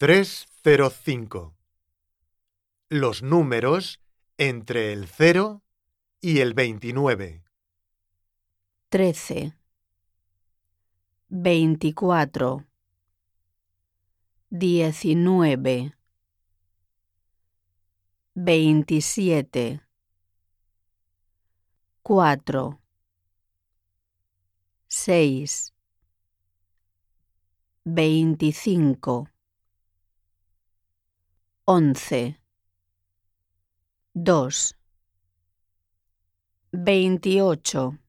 305. Los números entre el 0 y el 29. 13, 24, 19, 27, 4, 6, 25, 11, 2, 28,